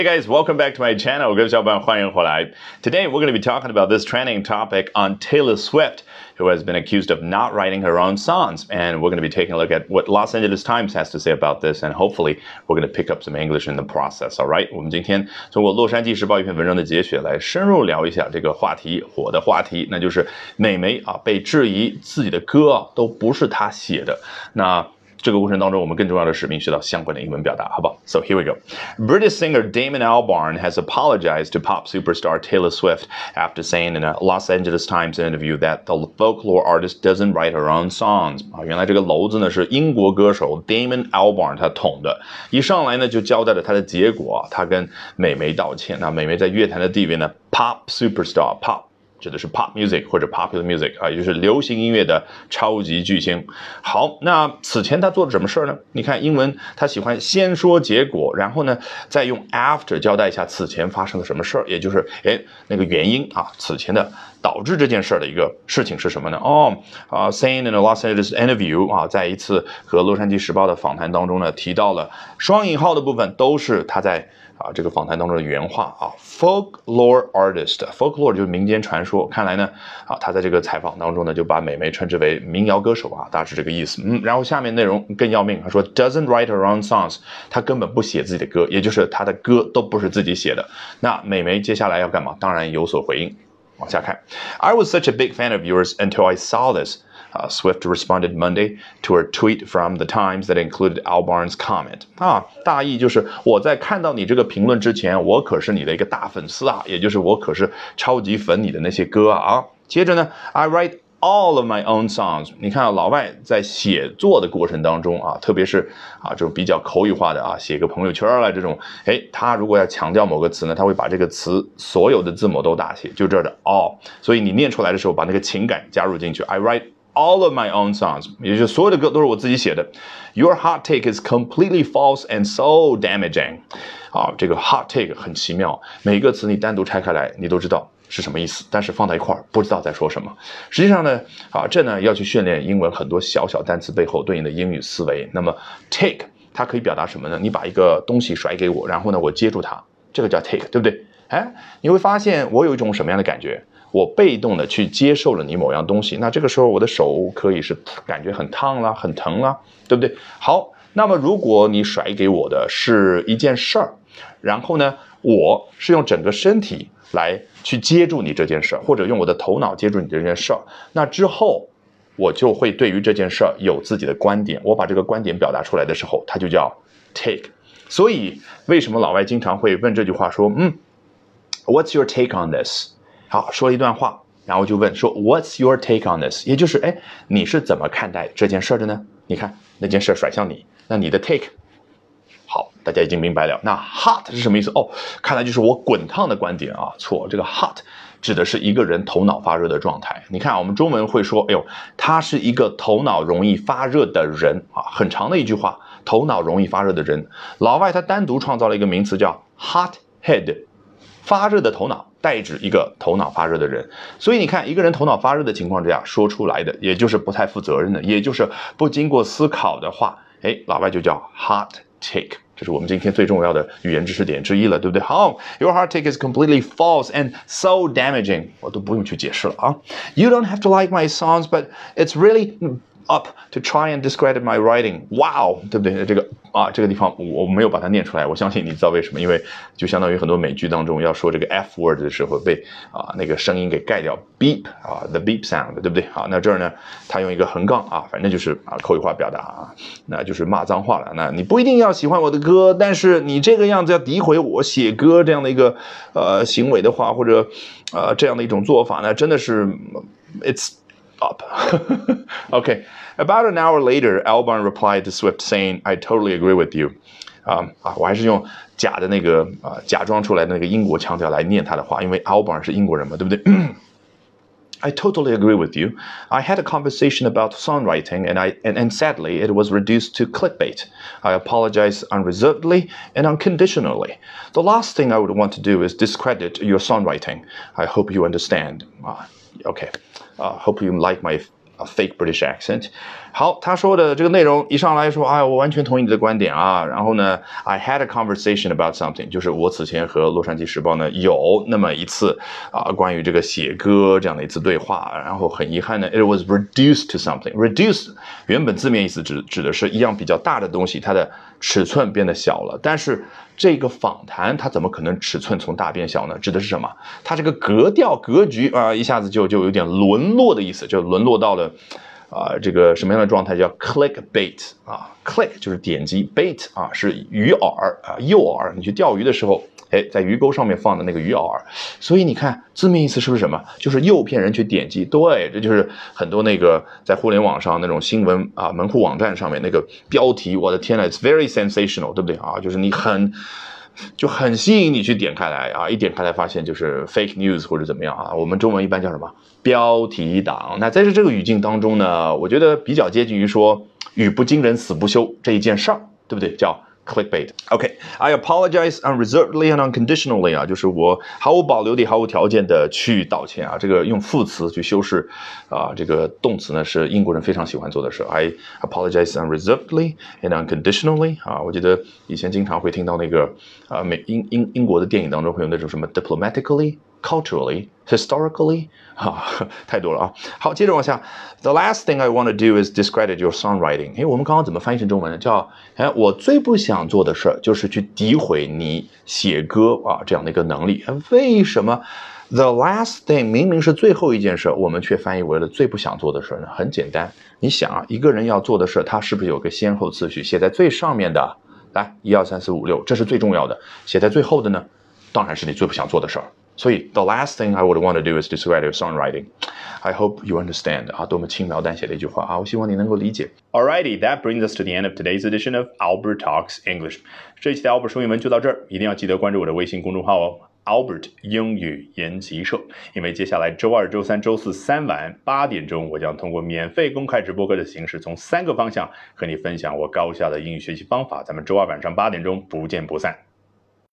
Hey guys, welcome back to my channel. 各位小伙伴欢迎回来。Today we're going to be talking about this trending topic on Taylor Swift, who has been accused of not writing her own songs. And we're going to be taking a look at what Los Angeles Times has to say about this, and hopefully we're going to pick up some English in the process. All right, 我们今天通过洛杉矶时报一篇文章的节选来深入聊一下这个话题，火的话题，那就是美媒被质疑自己的歌都不是她写的。那这个过程当中，我们更重要的是学到相关的英文表达，好不好 ？So here we go. British singer Damon Albarn has apologized to pop superstar Taylor Swift after saying in a Los Angeles Times interview that the folklore artist doesn't write her own songs. 原来这个篓子呢是英国歌手 Damon Albarn 他捅的，一上来呢就交代了他的结果，他跟美媒道歉。那美媒在乐坛的地位呢 ，pop superstar pop。指的是 pop music 或者 popular music 也就是流行音乐的超级巨星。好，那此前他做了什么事呢？你看英文，他喜欢先说结果，然后呢，再用 after 交代一下此前发生了什么事儿，也就是那个原因此前的导致这件事的一个事情是什么呢？saying in a Los Angeles interview 在一次和洛杉矶时报的访谈当中呢，提到了双引号的部分都是他在这个访谈当中的原话folklore artist，folklore 就是民间传说。看来呢他在这个采访当中呢就把美媒称之为民谣歌手大致这个意思。然后下面内容更要命，他说 doesn't write her own songs， 他根本不写自己的歌，也就是他的歌都不是自己写的。那美媒接下来要干嘛？当然有所回应。往下看 I was such a big fan of yours until I saw this。Swift responded Monday to a tweet from the Times that included Albarn's comment. 大意就是我在看到你这个评论之前，我可是你的一个大粉丝也就是我可是超级粉你的那些歌接着呢 I write all of my own songs. 你看老外在写作的过程当中特别是这种比较口语化的写个朋友圈这种，他如果要强调某个词呢，他会把这个词所有的字母都大写，就这儿的 all， 所以你念出来的时候把那个情感加入进去。I write all of my own songs， 也就是所有的歌都是我自己写的。Your hot take is completely false and so damaging。这个 hot take 很奇妙，每一个词你单独拆开来，你都知道是什么意思，但是放在一块儿不知道在说什么。实际上呢，这呢要去训练英文很多小小单词背后对应的英语思维。那么 take 它可以表达什么呢？你把一个东西甩给我，然后呢我接住它，这个叫 take， 对不对？你会发现我有一种什么样的感觉？我被动的去接受了你某样东西，那这个时候我的手可以是感觉很烫啦，很疼啦，对不对？好，那么如果你甩给我的是一件事儿，然后呢，我是用整个身体来去接住你这件事儿，或者用我的头脑接住你这件事儿，那之后我就会对于这件事儿有自己的观点，我把这个观点表达出来的时候，它就叫 take。所以为什么老外经常会问这句话说What's your take on this？好，说了一段话，然后就问说 What's your take on this？ 也就是你是怎么看待这件事的呢？你看那件事甩向你，那你的 take， 好，大家已经明白了。那 hot 是什么意思？看来就是我滚烫的观点错，这个 hot 指的是一个人头脑发热的状态。你看我们中文会说他是一个头脑容易发热的人很长的一句话，头脑容易发热的人。老外他单独创造了一个名词叫 hot head， 发热的头脑，代指一个头脑发热的人。所以你看一个人头脑发热的情况之下说出来的，也就是不太负责任的，也就是不经过思考的话，老外就叫 hot take。这是我们今天最重要的语言知识点之一了，对不对？好 Your hot take is completely false and so damaging。 我都不用去解释了You don't have to like my songs, but it's really up to try and discredit my writing. Wow， 对不对？这个地方我没有把它念出来，我相信你知道为什么，因为就相当于很多美剧当中要说这个 F word 的时候被那个声音给盖掉 beep the beep sound， 对不对？好，那这儿呢他用一个横杠反正就是口语化表达那就是骂脏话了。那你不一定要喜欢我的歌，但是你这个样子要诋毁我写歌这样的一个行为的话，或者这样的一种做法呢，真的是 it's up Okay, about an hour later, Albarn replied to Swift saying, I totally agree with you. 我还是用假的那个假装出来的那个英国腔调来念他的话，因为 Albarn 是英国人嘛，对不对？I totally agree with you. I had a conversation about songwriting, and sadly, it was reduced to clickbait. I apologize unreservedly and unconditionally. The last thing I would want to do is discredit your songwriting. I hope you understand. Okay. Hope you like my a fake British accent。好，他说的这个内容一上来说，我完全同意你的观点啊。然后呢 ，I had a conversation about something， 就是我此前和洛杉矶时报呢有那么一次关于这个写歌这样的一次对话。然后很遗憾呢 ，it was reduced to something。reduce 原本字面意思指的是一样比较大的东西，它的尺寸变得小了。但是这个访谈它怎么可能尺寸从大变小呢？指的是什么？它这个格调格局一下子就有点沦落的意思，就沦落到了这个什么样的状态？叫 clickbait click 就是点击 ，bait 是鱼饵诱饵。你去钓鱼的时候，在鱼钩上面放的那个鱼饵。所以你看字面意思是不是什么？就是诱骗人去点击。对，这就是很多那个在互联网上那种新闻门户网站上面那个标题，我的天呐 ，it's very sensational， 对不对就是你很吸引你去点开来一点开来发现就是 fake news 或者怎么样我们中文一般叫什么标题党。那在这个语境当中呢，我觉得比较接近于说语不惊人死不休这一件事儿，对不对？叫 clickbait。OK， I apologize unreservedly and unconditionally 就是我毫无保留的、毫无条件的去道歉这个用副词去修饰这个动词呢是英国人非常喜欢做的事。I apologize unreservedly and unconditionally 我记得以前经常会听到那个英国的电影当中会有那种什么 diplomatically。culturally, historically 太多了好，接着往下 The last thing I want to do is discredit your songwriting 我们刚刚怎么翻译成中文呢？叫我最不想做的事就是去诋毁你写歌这样的一个能力。为什么 The last thing 明明是最后一件事，我们却翻译为了最不想做的事呢？很简单，你想一个人要做的事，他是不是有个先后次序？写在最上面的来1、2、3、4、5、6，这是最重要的。写在最后的呢，当然是你最不想做的事儿。所以 the last thing I would want to do is discredit your songwriting. I hope you understand 多么轻描淡写的一句话我希望你能够理解。Alrighty, that brings us to the end of today's edition of Albert Talks English. 这一期的 Albert 说英文就到这儿，一定要记得关注我的微信公众号Albert 英语研习社，因为接下来周二、周三、周四3晚8点钟，我将通过免费公开直播课的形式，从3个方向和你分享我高效的英语学习方法。咱们周二晚上8点钟不见不散。